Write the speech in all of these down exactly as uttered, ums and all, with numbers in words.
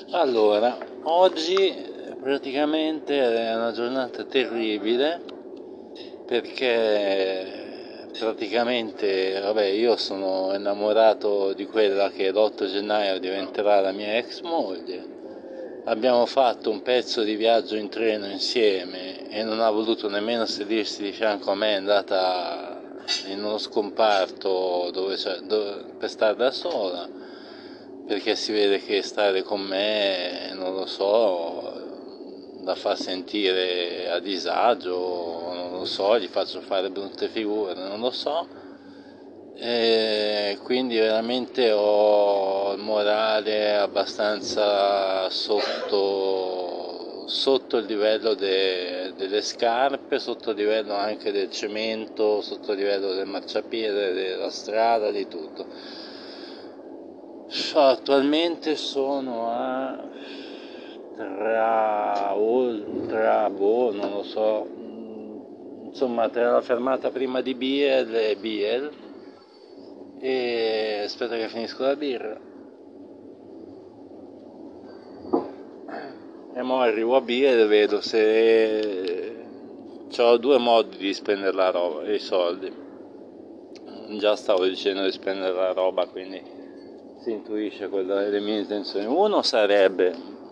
Allora, oggi praticamente è una giornata terribile perché praticamente, vabbè, io sono innamorato di quella che l'otto gennaio diventerà la mia ex moglie. Abbiamo fatto un pezzo di viaggio in treno insieme e non ha voluto nemmeno sedersi di fianco a me, è andata in uno scomparto dove, cioè, dove, per stare da sola, perché si vede che stare con me, non lo so, la fa sentire a disagio, non lo so, gli faccio fare brutte figure, non lo so. E quindi veramente ho il morale abbastanza sotto, sotto il livello de, delle scarpe, sotto il livello anche del cemento, sotto il livello del marciapiede, della strada, di tutto. Attualmente sono a tra, tra boh, non lo so, insomma tra la fermata prima di Biel e Biel, e aspetta che finisco la birra e mo arrivo a Biel e vedo se ho due modi di spendere la roba, i soldi. Già stavo dicendo di spendere la roba, quindi si intuisce quelle delle mie intenzioni. Uno sarebbe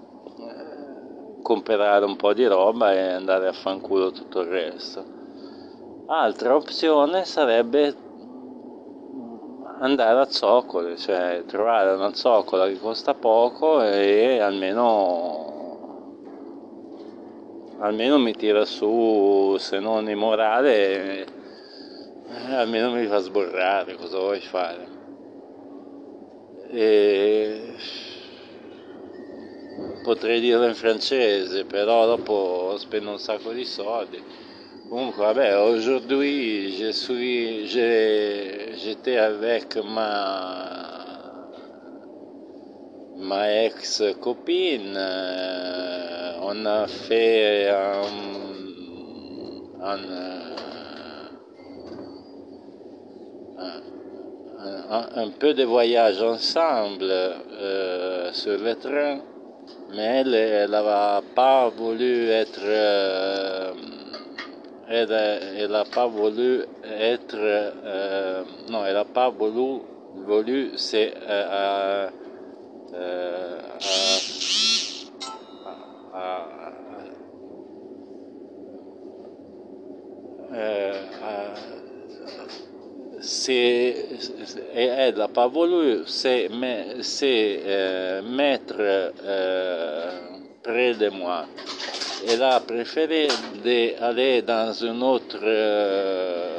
comprare un po' di roba e andare a fanculo tutto il resto. Altra opzione sarebbe andare a zoccole, cioè trovare una zoccola che costa poco e almeno almeno mi tira su, se non in morale, eh, almeno mi fa sborrare, cosa vuoi fare? E potrei dirlo in francese, però dopo spendo un sacco di soldi. Comunque, vabbè, aujourd'hui, je suis, j'ai, j'étais avec ma, ma ex-copine, euh, on a fait un, un, un, un, un peu de voyage ensemble euh, sur le train, mais elle n'a pas voulu être... Euh, elle n'a pas voulu être... Euh, non, elle n'a pas voulu, voulu c'est... Euh, euh, euh, euh, c'est, elle n'a pas voulu se, se euh, mettre euh, près de moi. Elle a préféré d'aller dans un autre euh,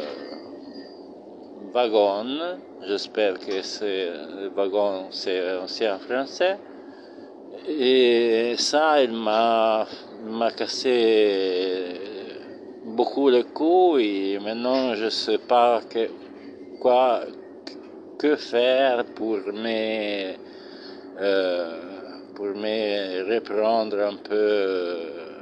wagon. J'espère que c'est le wagon, c'est aussi en français. Et ça, il m'a, m'a cassé beaucoup les couilles. Maintenant, je ne sais pas que, quoi, que faire pour me, euh, pour me reprendre un peu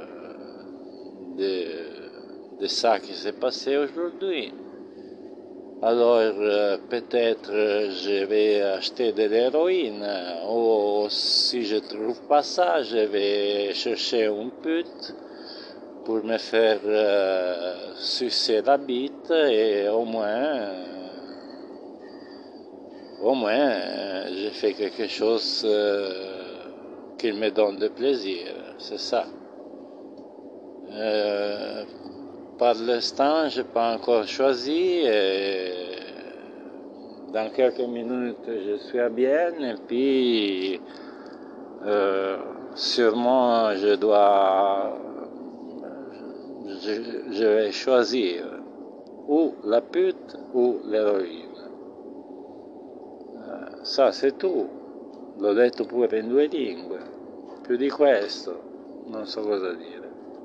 de, de ça qui s'est passé aujourd'hui. Alors euh, peut-être euh, je vais acheter de l'héroïne, ou si je trouve pas ça, je vais chercher une pute pour me faire euh, sucer la bite et au moins, euh, au moins euh, j'ai fait quelque chose euh, qui me donne de plaisir, c'est ça. Euh, Par l'instant, je n'ai pas encore choisi. Et dans quelques minutes, je suis à Bienne. Et puis, euh, sûrement, je dois. Je, je vais choisir ou la pute ou l'eroina. Ça, c'est tout. L'ho detto pure in due lingue. Più di questo, non so cosa dire.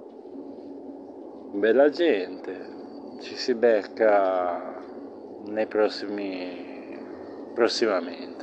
Bella gente, ci si becca nei prossimi prossimamente.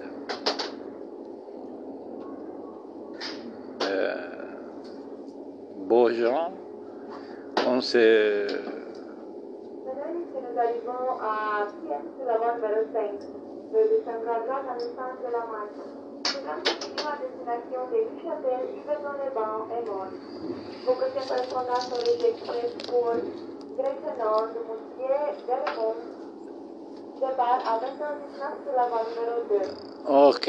Euh, beaux gens, on se... Nous arrivons à Pièce de la Bonne Versailles. Le descendra droite en descente de la marche. à destination de Neuchâtel, Yverdon-les-Bains et Mons. Vos prochaines correspondances sont les express pour direction nord de Moutier, Delemont, départ à vingt heures dix-neuf sur la voie numéro deux. Ok.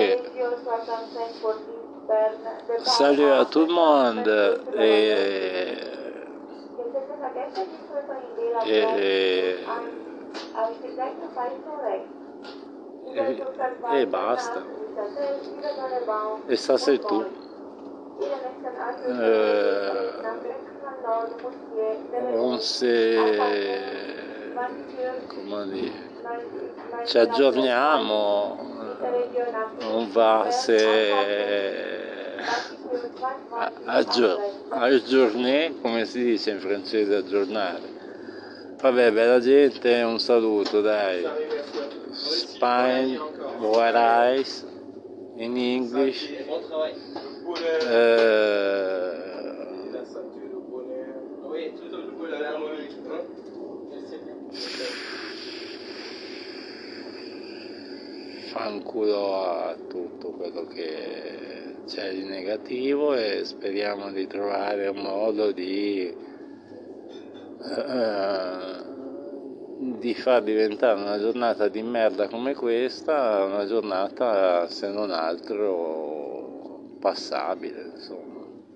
Salut à tout le monde et, et, e, e basta. E ça c'est tout. Euh, on s'est, comment dire, ci aggiorniamo, on va se aggior aggiornare, come si dice in francese aggiornare. Vabbè, bella gente, un saluto, dai. Spain, white eyes, in English. Uh, fanculo a tutto quello che c'è di negativo e speriamo di trovare un modo di uh, di far diventare una giornata di merda come questa una giornata, se non altro, passabile, insomma.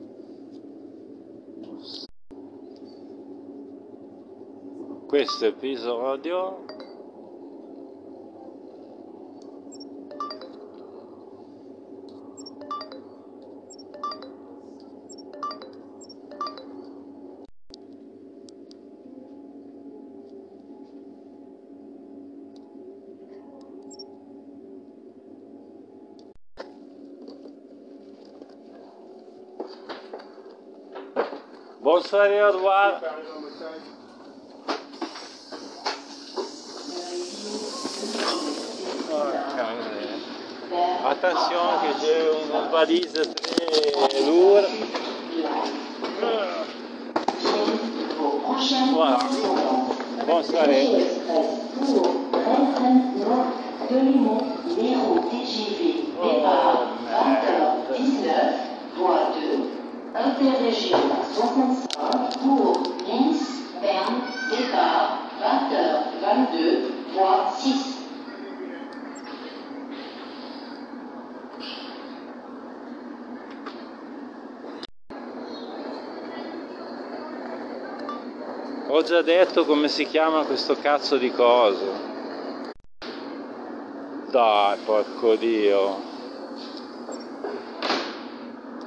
Questo episodio Bonsoir et au revoir. Attention que j'ai une valise très lourde. Voilà. Bonne soirée. Interrégion soixante-cinq pour Nice, Berne, départ vingt heures vingt-deux, voie six. Ho già detto come si chiama questo cazzo di coso. Dai, porco Dio.